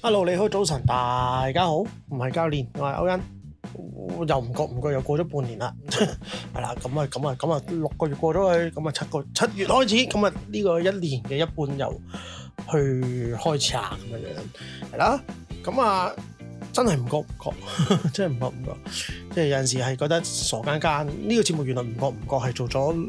Hello， 你好，早晨，大家好，唔係教練，我係歐恩，又唔覺又過咗半年啦，係啦，咁啊6個月過咗去，咁啊7月開始，咁啊呢個一年嘅一半又去開始啦，咁樣係啦，咁啊真係唔覺，真係唔覺，即係有陣時係覺得傻更更，呢個節目原來唔覺係做咗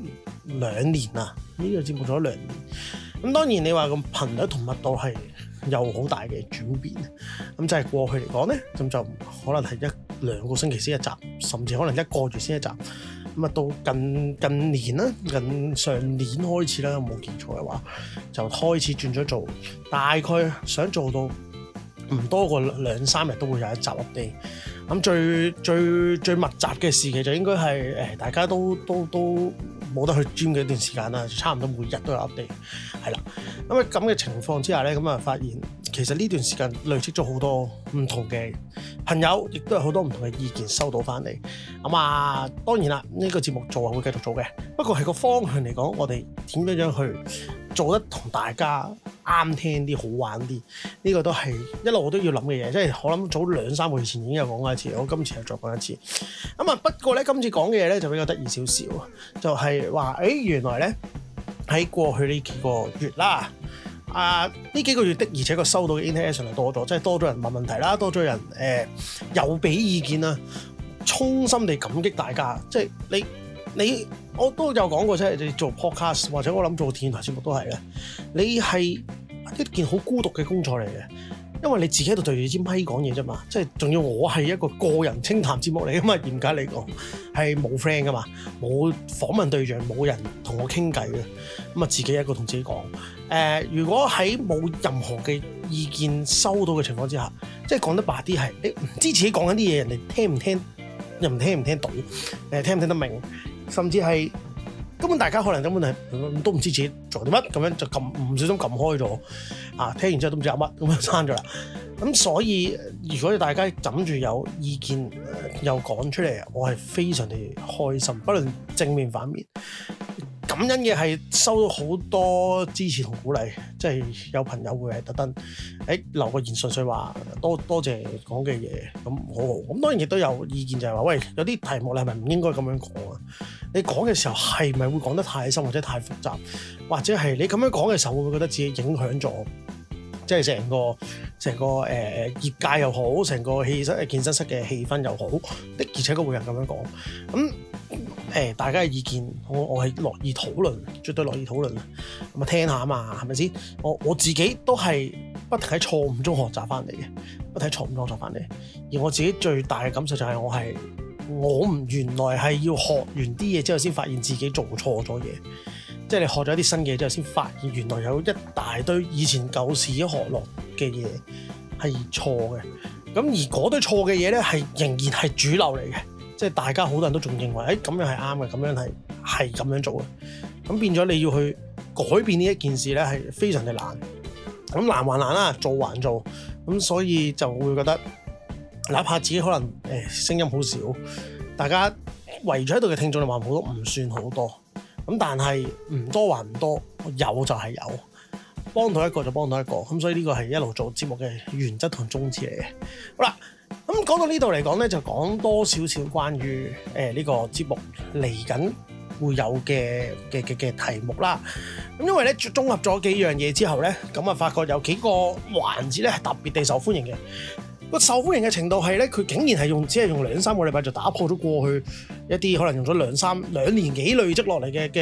2年啦，呢個節目做咗2年，咁當然你話個頻率同密度係有好大嘅轉變，咁就係過去嚟講咧，咁就可能係1-2個星期先一集，甚至可能1個月先一集。咁啊到近年啦，近上年開始啦，冇記錯嘅話，就開始轉咗做，大概想做到唔多過2-3日都會有一集 update。咁最密集嘅時期就應該係大家都冇得去 gym 嘅一段時間啦，就差唔多每日都有 update， 係啦。咁嘅情況之下咧，咁啊發現其實呢段時間累積咗好多唔同嘅朋友，亦都有好多唔同嘅意見收到翻嚟。咁啊當然啦，呢個節目做會繼續做嘅，不過係個方向嚟講，我哋點樣去做得同大家啱聽啲、好玩啲，呢個都係一路都要諗嘅嘢。即係我諗早2-3個月前已經有講過一次，我今次又再講一次。咁啊不過咧，今次講嘅嘢咧就比較得意少少，就係話原來咧喺過去呢幾個月啦，呢幾個月的而且確收到嘅 interaction 係多咗，即係多咗人問問題啦，多咗人有俾意見啦，衷心地感激大家。即係你我都有講過，即係你做 podcast 或者我諗做電台節目都係嘅，你係一件好孤獨嘅工作嚟嘅，因為你自己喺度對住支咪講嘢啫嘛，即係仲要我係一個個人清談節目嚟噶嘛，嚴格嚟講係冇 friend 噶嘛，冇訪問對象，冇人同我傾偈嘅，咁啊自己一個同自己講。如果喺冇任何嘅意見收到嘅情況之下，即係講得白啲係你唔知自己講緊啲嘢，人哋聽唔聽，又唔聽到，聽唔聽得明，甚至係根本大家可能根本係都唔知自己做啲乜，咁樣就唔小心撳開咗，聽完之後都唔知有乜，咁樣刪咗啦。咁所以如果大家枕住有意見又講出嚟，我係非常地開心，不論正面反面。感恩嘅係收到好多支持同鼓勵，即係有朋友會係特登留個言順序話多謝講嘅嘢，咁好好。咁當然亦都有意見就係話，喂，有啲題目你係咪唔應該咁樣講啊？你講嘅時候係咪會講得太深或者太複雜，或者係你咁樣講嘅時候會唔會覺得自己影響咗，即係成個業界又好，成個健身室嘅氣氛又好，的而且確會有人咁樣講。咁大家嘅意見，我係樂意討論，絕對樂意討論。咁啊聽下啊嘛，係咪先？我自己都係不停喺錯誤中學習翻嚟嘅，不停喺錯誤中學習翻嚟。而我自己最大嘅感受就係我唔原來係要學完啲嘢之後先發現自己做錯咗嘢。即係你學咗一啲新嘢之後，先發現原來有一大堆以前舊時學落嘅嘢係錯嘅。咁而嗰堆錯嘅嘢咧，係仍然係主流嚟嘅。即係大家好多人都仲認為，咁樣係啱嘅，咁樣係咁樣做嘅。咁變咗你要去改變呢一件事咧，係非常嘅難。咁難還難啦，做還做。咁所以就會覺得，哪怕自己可能聲音好少，大家圍住喺度嘅聽眾你話好多唔算好多。咁但係唔多還唔多，有就係有，幫到一個就幫到一個。咁所以呢個係一路做節目嘅原則同宗旨嚟嘅。好啦。咁講到呢度嚟講咧，就講多少少關於呢個節目嚟緊會有嘅題目啦。咁因為咧綜合咗幾樣嘢之後咧，咁啊發覺有幾個環節咧係特別地受歡迎嘅。個受歡迎嘅程度係咧，佢竟然係只係用2-3個禮拜就打破咗過去一啲可能用咗2年幾累積落嚟嘅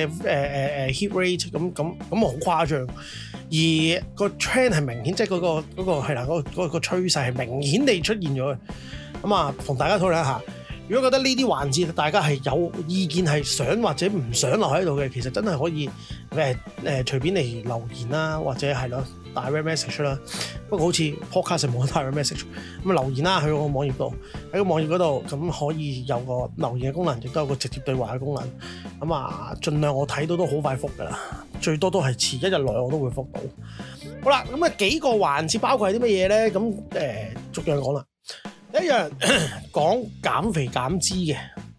hit rate， 咁好誇張。而個 trend 係明顯，即係嗰個係啦，嗰個趨勢係明顯地出現咗嘅。咁啊，同大家討論一下，如果覺得呢啲環節大家係有意見係想或者唔想留喺度嘅，其實真係可以隨便嚟留言啦，或者係咯direct message 啦。不過好似 podcast 冇 direct message， 咁留言啦，去個網頁度，喺個網頁嗰度咁可以有個留言嘅功能，亦都有個直接對話嘅功能。咁啊，盡量我睇到都好快覆㗎啦，最多都係遲1日內我都會覆到。好啦，咁啊幾個環節包括係啲乜嘢咧？咁逐樣講啦。第一樣講減肥減脂嘅，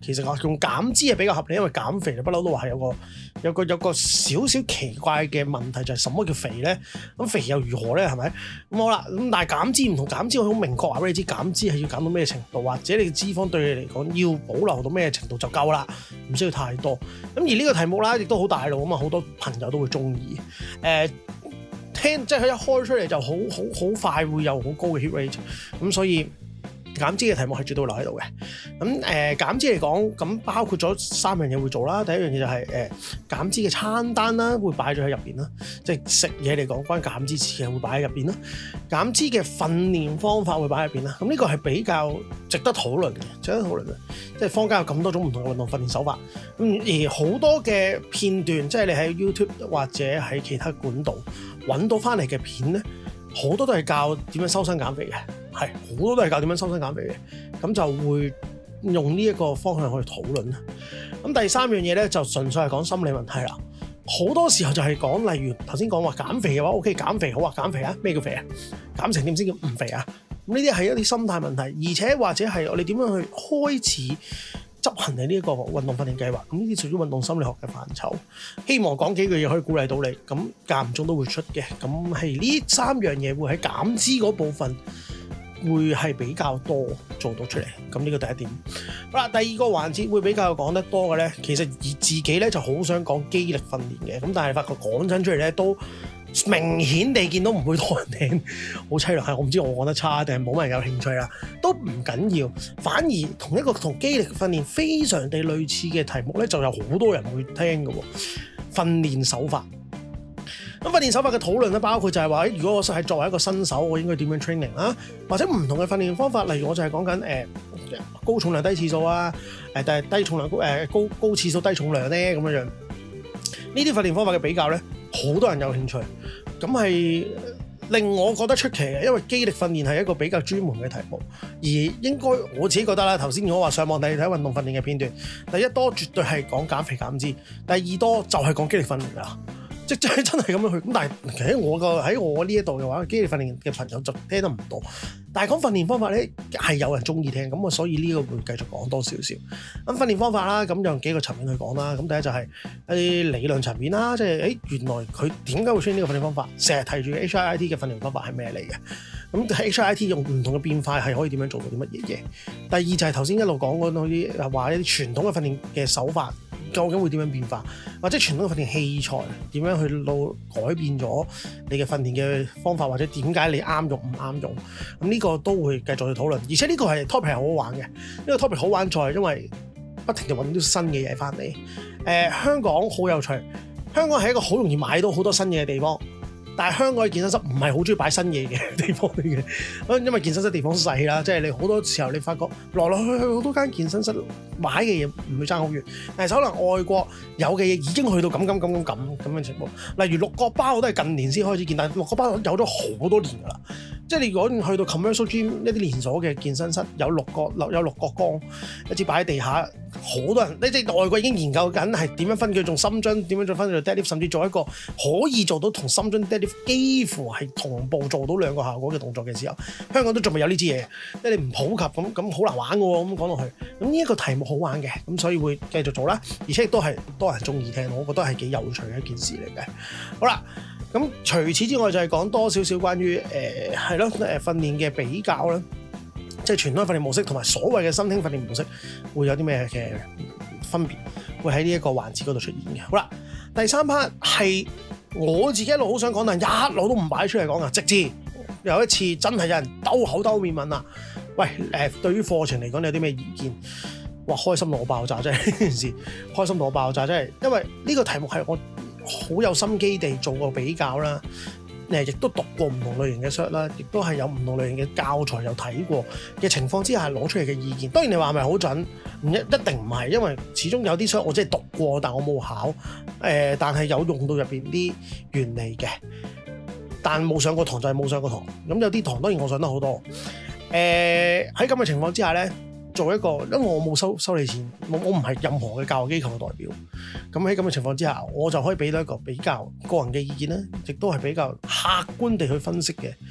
其實用減脂係比較合理，因為減肥就不嬲都話係有個少少奇怪嘅問題，就係什麼叫肥咧？咁肥又如何咧？係咪？咁好啦，咁但係減脂唔同減脂，我好明確話俾你知，減脂係要減到咩程度，或者你嘅脂肪對你嚟講要保留到咩程度就夠啦，唔需要太多。咁而呢個題目啦，亦都好大路啊嘛，好多朋友都會中意。聽即係佢一開出嚟就好快會有好高嘅 hit rate，咁所以減脂嘅題目係絕對會留喺度嘅。咁減脂嚟講，咁包括咗3樣嘢會做啦。第一樣嘢就係減脂嘅餐單啦，會擺咗喺入邊啦。即係食嘢嚟講，關於減脂事嘅會擺喺入邊啦。減脂嘅訓練方法會擺喺入邊啦。咁呢個係比較值得討論嘅，即係坊間有咁多種唔同嘅運動訓練手法。咁而好多嘅片段，即係你喺 YouTube 或者喺其他管道揾到翻嚟嘅片咧，好多都係教點樣修身減肥嘅，係好多都係教點樣修身減肥嘅，咁就會用呢一個方向去討論啦。咁第3樣嘢咧就純粹係講心理問題啦。好多時候就係講，例如頭先講話減肥嘅話 ，OK 減肥好啊，減肥啊，咩叫肥啊？減成點先叫唔肥啊？咁呢啲係一啲心態問題，而且或者係我哋點樣去開始執行你呢一個運動訓練計劃，咁呢啲屬於運動心理學嘅範疇。希望講幾句嘢可以鼓勵到你，咁間唔中都會出嘅。咁係呢3樣嘢會喺減脂嗰部分會係比較多做到出嚟。咁呢個第一點。好啦，第二個環節會比較講得多嘅咧，其實而自己咧就好想講肌力訓練嘅，咁但係發覺講真出嚟咧都明顯地見到唔會多人聽，好凄涼。係我唔知我講得差定係冇乜人有興趣啦，都唔緊要。反而同一個同肌力訓練非常地類似嘅題目咧，就有好多人會聽嘅喎。訓練手法，咁訓練手法嘅討論咧，包括就係話，如果我係作為一個新手，我應該點樣 training 啦，或者唔同嘅訓練方法，例如我就係講緊高重量低次數啊，但係低重量高次數低重量咧咁樣。呢啲訓練方法嘅比較咧，好多人有興趣，咁係令我覺得出奇嘅，因為肌力訓練係一個比較專門嘅題目，而應該我自己覺得啦，頭先我話上網睇運動訓練嘅片段，第一多絕對係講減肥減脂，第二多就係講肌力訓練㗎啦。即真係咁樣去，咁但係其實喺我呢一度嘅話，肌力訓練嘅朋友就聽得唔多。但係講訓練方法咧，係有人中意聽，咁我所以呢個會繼續講多少少。咁訓練方法啦，咁用幾個層面去講啦。咁第一就係一啲理論層面啦，即係原來佢點解會出現呢個訓練方法？成日提住 HIIT 嘅訓練方法係咩嚟嘅？咁 HIIT 用唔同嘅變化係可以點樣做到啲乜嘢嘢？第二就係頭先一路講嗰啲話一啲傳統嘅訓練嘅手法。究竟會點樣變化，或者傳統嘅訓練器材點樣去到改變咗你嘅訓練嘅方法，或者點解你啱用唔啱用？咁呢個都會繼續去討論，而且呢個係 topic 係好好玩嘅。呢個 topic 好玩在因為不停地揾到新嘅嘢翻嚟。香港好有趣，香港係一個好容易買到好多新嘢嘅地方。但係香港嘅健身室唔係好中意擺新嘢嘅地方嚟嘅，因為健身室地方細啦，即係你好多時候你發覺來來去去好多間健身室買嘅嘢唔會爭好遠，但係可能外國有嘅嘢已經去到咁嘅情況。例如六角包我都係近年先開始見，但係六角包有咗好多年㗎啦。即係你如果去到 commercial gym 一啲連鎖嘅健身室，有六角桿一支擺喺地下，好多人呢即係外國已經研究緊係點樣分佢做深蹲，點樣再分佢做 deadlift，甚至做一個可以做到同深蹲 deadlift 幾乎係同步做到兩個效果嘅動作嘅時候，香港都仲未有呢支嘢，即係你唔普及咁好難玩嘅喎。咁講落去，咁呢一個題目好玩嘅，咁所以會繼續做啦，而且亦都係多人中意聽，我覺得係幾有趣嘅一件事嚟嘅。好啦。咁除此之外就係講多少少關於訓練嘅比較啦，即係傳統訓練模式同埋所謂嘅新興訓練模式會有啲咩嘅分別，會喺呢一個環節嗰度出現嘅。好啦，第3 part 係我自己一路好想講，但一路都唔擺出嚟講嘅，直至有一次真係有人兜口兜面問啦，喂對於課程嚟講你有啲咩意見？哇，開心到我爆炸真係呢件事，開心到我爆炸真係，因為呢個題目係我好有心機地做過比較啦，亦都讀過唔同類型嘅 cert 啦，亦都係有唔同類型嘅教材有睇過嘅情況之下攞出嚟嘅意見。當然你話係咪好準？一定唔係，因為始終有啲 cert 我真係讀過，但我冇考，但係有用到入邊啲原理嘅，但冇上過堂就係冇上過堂。咁有啲堂當然我上得好多。喺咁嘅情況之下咧。做一個，因為我冇收你錢，我唔係任何嘅教育機構嘅代表。咁喺咁嘅情況之下，我就可以俾到一個比較個人嘅意見咧，亦都係比較客觀地去分析嘅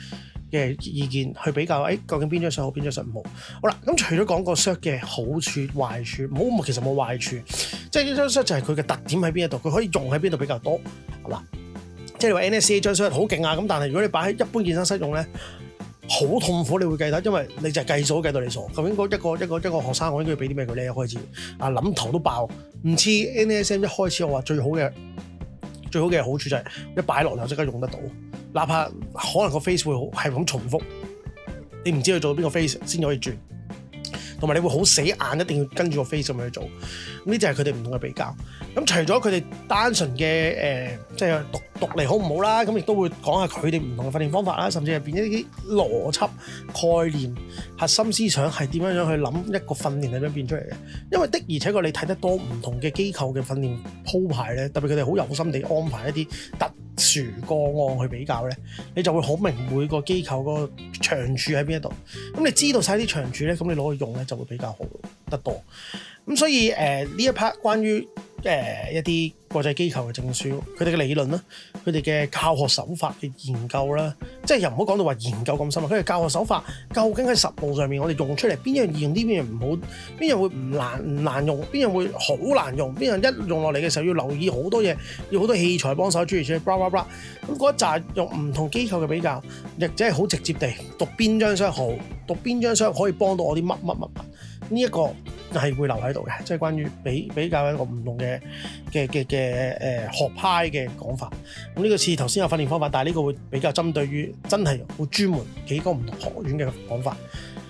嘅意見去比較，究竟邊張相好，邊張相唔好。好啦，咁除咗講個 shirt 嘅好處、壞處，其實冇壞處，即係呢張 shirt 就係佢嘅特點喺邊一度，佢可以用喺邊度比較多，係嘛？即係你話 NSCA 張 shirt 好勁啊，咁但係如果你擺喺一般健身室用咧，好痛苦，你會計得，因為你就係計數計到你傻。究竟一個學生我應該要俾啲咩佢咧？一開始諗頭都爆，唔似 NSM 一開始我話最好嘅好處就係一擺落就即刻用得到，哪怕可能個 face 會係咁重複，你唔知佢做到邊個 face 先可以轉。同埋你會好死硬，一定要跟住個 face 咁樣去做。呢啲就係佢哋唔同嘅比較。咁除咗佢哋單純嘅即係讀嚟好唔好啦，咁亦都會講下佢哋唔同嘅訓練方法啦，甚至係變一啲邏輯概念、核心思想係點樣去諗一個訓練係點樣變出嚟嘅。因為的而且確你睇得多唔同嘅機構嘅訓練鋪排咧，特別佢哋好有心地安排一啲特殊個案去比較咧，你就會好明每個機構個長處喺邊一度。咁你知道晒啲長處咧，咁你攞去用咧就會比較好得多。咁所以呢一 part 關於一啲國際機構嘅證書，佢哋嘅理論啦，佢哋嘅教學手法嘅研究啦，即係又唔好講到話研究咁深啊。佢哋教學手法究竟喺實務上面，我哋用出嚟邊樣易用啲，邊樣唔好，邊樣會唔難用，邊樣會好難用，邊樣一用落嚟嘅時候要留意好多嘢，要好多器材幫手，諸如此類，blah blah blah。咁嗰一紮用唔同機構嘅比較，亦即係好直接地讀邊張相好，讀邊張相可以幫到我啲乜。呢一個係會留喺度嘅，即係關於比較一個唔同嘅學派嘅講法。咁呢個似頭先有訓練方法，但係呢個會比較針對於真係好專門幾個唔同學院嘅講法。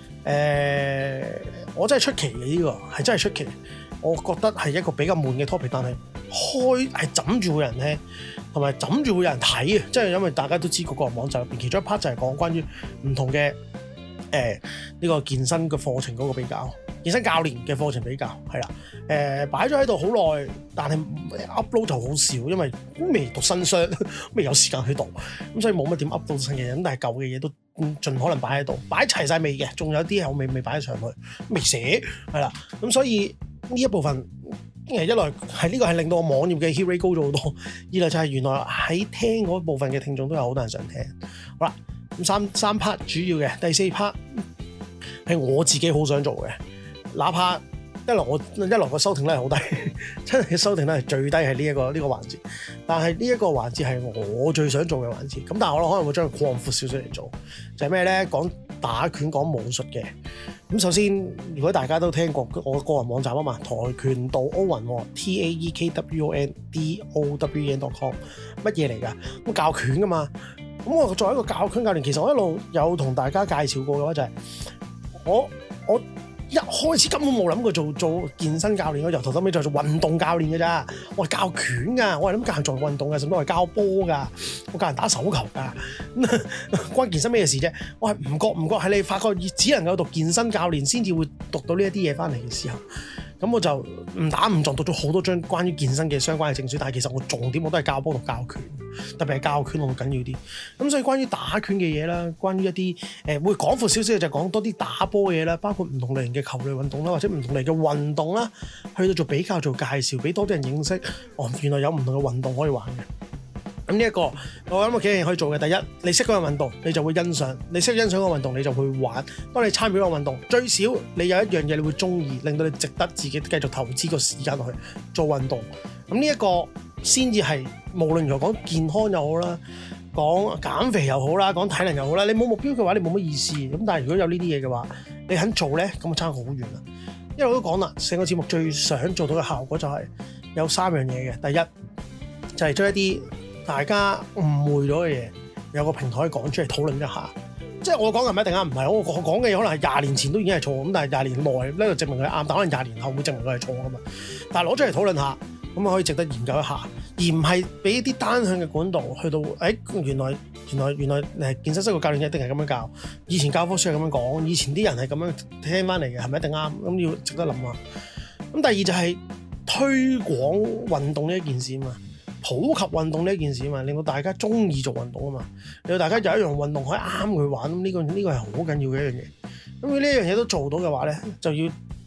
我真係出奇嘅，呢個係真係出奇。我覺得係一個比較悶嘅 topic， 但係係枕住會有人聽，同埋枕住會有人睇嘅，即係因為大家都知個個人網站入邊其中一 part 就係講關於唔同嘅呢個健身嘅課程嗰個比較。健身教練嘅課程比較係啦，擺咗喺度好耐，但係 upload 就好少，因為未讀新書，未有時間去讀，咁所以冇乜點 upload 新嘅嘢。咁但係舊嘅嘢都盡可能擺喺度，擺齊晒未嘅，仲有啲係我未擺上去，未寫係啦。咁所以呢一部分一來係呢個係令到我網頁嘅 hit rate 高咗好多，二來就係原來喺聽嗰部分嘅聽眾都有好多人想聽。好啦，咁三 part 主要嘅，第四 part 係我自己好想做嘅。哪怕一來個收聽率係好低，真係收聽率係最低係呢一個環節，但係呢一個環節係我最想做嘅環節。咁但係我可能會將佢擴闊少少嚟做，就係咩咧？講打拳講武術嘅。咁首先，如果大家都聽過我個人網站啊嘛，跆拳道歐雲 TAEKWONDOWEN.com 乜嘢嚟㗎？咁教拳㗎嘛。咁我作為一個教拳教練，其實我一路有同大家介紹過嘅話就係我一開始根本冇諗過做健身教練，我由頭到尾就做運動教練嘅咋。我係教拳㗎，我係諗教人做運動嘅，甚至我係教波㗎，我教人打手球㗎，關健身咩事啫？我係唔覺係你發覺只能夠讀健身教練先至會讀到呢一啲嘢翻嚟嘅時候，咁我就誤打誤撞讀咗好多張關於健身嘅相關嘅證書，但係其實我重點我都係教波同教拳，特別係教拳我好緊要啲。咁所以關於打拳嘅嘢啦，關於一啲會廣闊少少嘅就講多啲打波嘅嘢啦，包括唔同類型嘅球類運動啦，或者唔同類嘅運動啦，去到做比較做介紹，俾多啲人認識。原來有唔同嘅運動可以玩嘅。咁呢一個我諗有幾樣嘢可以做嘅。第一，你識嗰個運動，你就會欣賞；你識欣賞嗰個運動，你就會玩。當你參與嗰個運動，最少你有一樣嘢你會中意，令到你值得自己繼續投資個時間落去做運動。咁呢一個先至係無論如何講健康又好啦，講減肥又好啦，講體能又好啦。你冇目標嘅話，你冇乜意思。咁但係如果有呢啲嘢嘅話，你肯做咧，咁就差好遠啦。一路都講啦，成個節目最想做到嘅效果就係有三樣嘢嘅。第一就係將一啲大家誤會咗嘅嘢，有個平台講出嚟討論一下。即係我講嘅唔一定啱，唔係我講嘅嘢可能係20年前都已經係錯，咁但係20年內呢就證明佢啱，但可能20年後會證明佢係錯㗎嘛。但係攞出嚟討論下，咁可以值得研究一下，而唔係俾一啲單向嘅管道去到，原來健身室個教練一定係咁樣教，以前教科書係咁樣講，以前啲人係咁樣聽翻嚟嘅，係咪一定啱？咁要值得諗下。咁第二就係推廣運動呢一件事嘛。普及運動呢件事啊嘛，令到大家中意做運動啊嘛，令到大家有一樣運動可以啱佢玩，咁呢個係好緊要嘅一樣嘢。咁佢呢樣嘢都做到嘅話咧，就要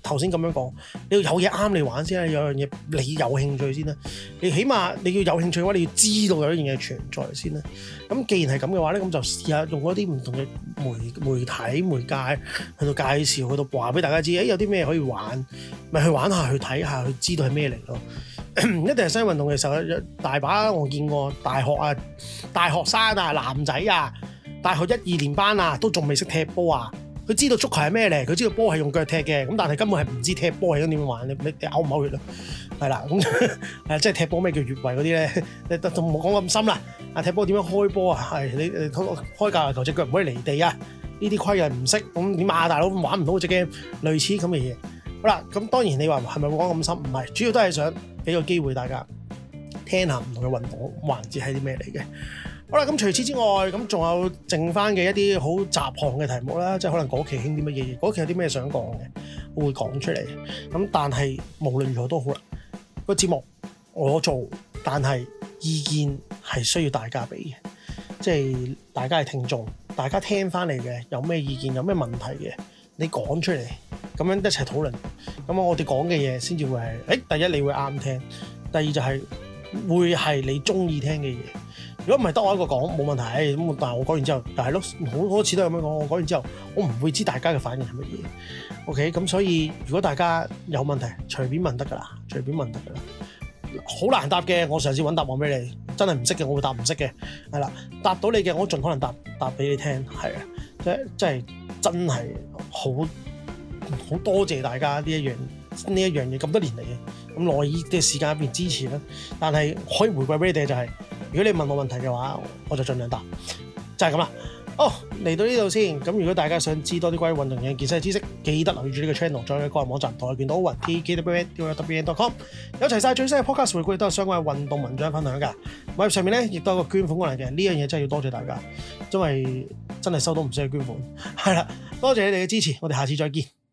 頭先咁樣講，你要有嘢啱你玩先啦，有樣嘢你有興趣先啦。你起碼你要有興趣嘅話，你要知道有一樣嘢存在先啦。咁既然係咁嘅話咧，咁就試下用嗰啲唔同嘅媒體媒介去到介紹，去到話俾大家知，有啲咩可以玩，咪去玩下，去睇下，去知道係咩嚟咯。一定係新運動嘅時候，大把我見過大學生啊，男仔啊，大學1、2年班啊，都仲未識踢波啊。佢知道足球係咩嚟，佢知道波係用腳踢嘅，咁但係根本係唔知踢波係應該點樣玩，你嘔唔嘔血啊？係啦，咁即係踢波咩叫越位嗰啲咧？你都冇講咁深啦。踢波點樣開波啊？係你開界球隻腳唔可以離地啊！呢啲規矩唔識，咁點啊？大佬玩唔到隻 game，類似咁嘅嘢。好啦，咁當然你話係咪會講咁深？唔係，主要都係想俾個機會大家聽下唔同嘅運動環節係啲咩嚟嘅。好啦，咁除此之外，咁仲有剩翻嘅一啲好雜項嘅題目啦，即係可能嗰期興啲乜嘢嘢，嗰期有啲咩想講嘅，我會講出嚟。咁但係無論如何都好啦，個節目我做，但係意見係需要大家俾嘅，即係大家係聽眾，大家聽翻嚟嘅有咩意見，有咩問題嘅，你講出嚟，咁樣一齊討論。咁我哋講嘅嘢先至會係，第一你會啱聽，第二就係會係你中意聽嘅嘢。如果唔係得我一個講冇問題，咁但係我講完之後，但係咯好多次都係咁樣講。我講完之後，我唔會知大家嘅反應係乜嘢。OK， 咁所以如果大家有問題，隨便問得㗎啦，隨便問得㗎啦。好難答嘅，我嘗試揾答案俾你。真係唔識嘅，我會答唔識嘅。係啦，答到你嘅，我盡可能答俾你聽。係啊，真係好多謝大家呢一樣嘢咁多年嚟嘅咁耐嘅時間入邊支持啦。但係可以回饋俾你哋就係，如果你問我問題嘅話，我就盡量答，就係咁啦。嚟到呢度先。咁如果大家想知多啲關於運動嘅健身知識，記得留意住呢個 channel， 再喺個人網站跆拳道奧運 TKWN.com 有齊晒最新嘅 podcast 回顧，亦都有相關嘅運動文章分享㗎。喺上面咧亦都有個捐款功能嘅，呢樣嘢真係要多謝大家，因為真係收到唔少嘅捐款。係啦，多謝你哋嘅支持，我哋下次再見。